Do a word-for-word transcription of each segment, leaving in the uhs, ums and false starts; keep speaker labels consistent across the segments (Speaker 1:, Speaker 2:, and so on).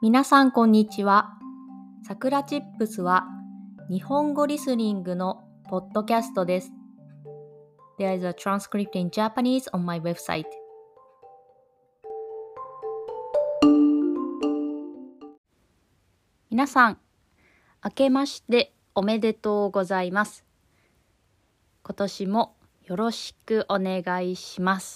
Speaker 1: 皆さんこんにちは。さくらチップスは日本語リスニングのポッドキャストです。There is a transcript in Japanese on my website. 皆さん、明けましておめでとうございます。今年もよろしくお願いします。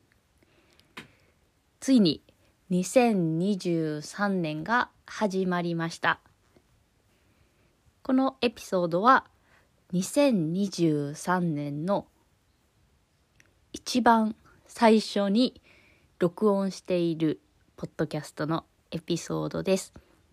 Speaker 1: ついににせんにじゅうさんねんが始まりました。このエピソードはにせんにじゅうさんねんの一番最初に録音しているポッドキャストのエピソードです。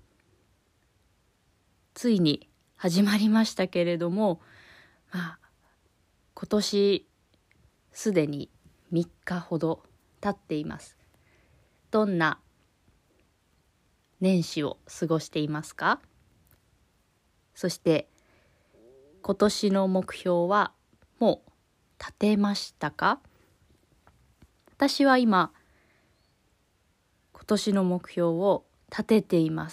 Speaker 1: ついに始まりましたけれども、まあ、今年すでにみっかほど経っています。どんな年始を過ごしていますか？そして今年の目標はもう立てましたか？私は今今年の目標を立てています。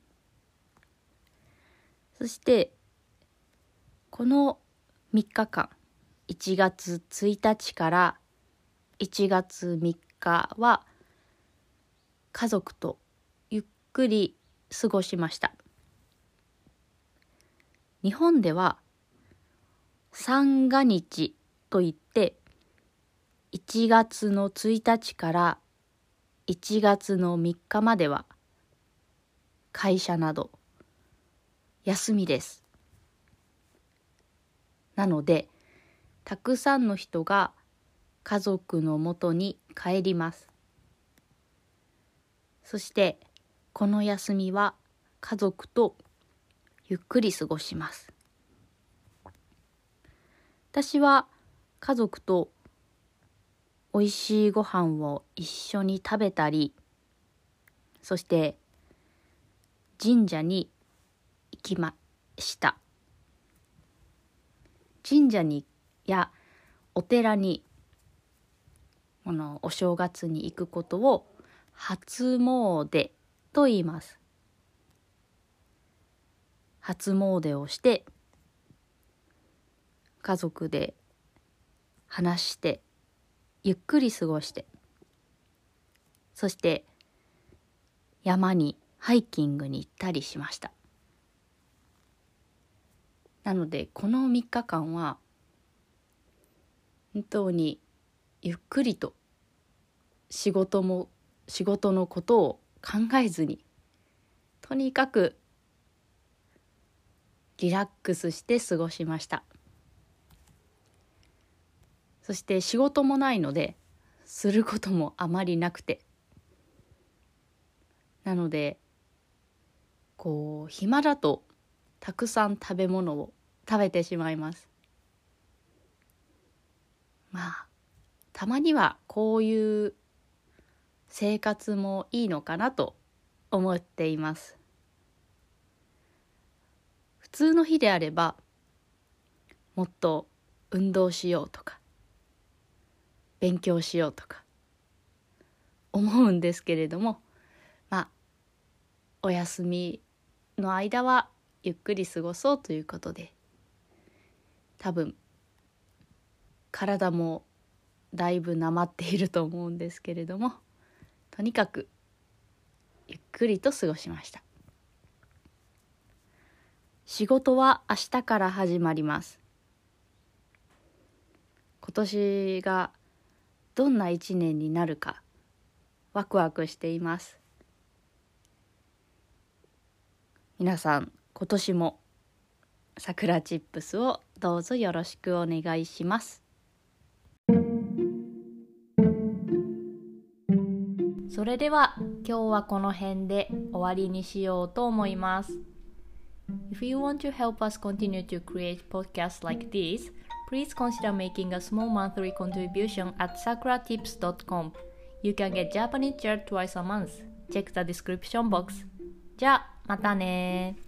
Speaker 1: そしてこのみっかかん、いちがつついたちからいちがつみっかは家族とゆっくり過ごしました。日本では三が日といっていちがつのついたちからいちがつのみっかまでは会社など休みです。なのでたくさんの人が家族のもとに帰ります。そしてこの休みは家族とゆっくり過ごします。私は家族とおいしいご飯を一緒に食べたり、そして神社に行きました。神社にやお寺にこのお正月に行くことを初詣と言います。初詣をして家族で話してゆっくり過ごして、そして山にハイキングに行ったりしました。なのでこのみっかかんは本当にゆっくりと仕事も仕事のことを考えずに、とにかくリラックスして過ごしました。そして仕事もないのですることもあまりなくて、なのでこう暇だとたくさん食べ物を食べてしまいます。まあたまにはこういう生活もいいのかなと思っています。普通の日であればもっと運動しようとか勉強しようとか思うんですけれども、まあお休みの間はゆっくり過ごそうということで、多分体もだいぶなまっていると思うんですけれども、とにかくゆっくりと過ごしました。仕事は明日から始まります。今年がどんな一年になるかワクワクしています。皆さん今年もさくらチップスをどうぞよろしくお願いします。それでは今日はこの辺で終わりにしようと思います。If you want to help us continue to create podcasts like this, please consider making a small monthly contribution at sakura tips dot com. You can get Japanese chat twice a month. Check the description box. じゃあまたね。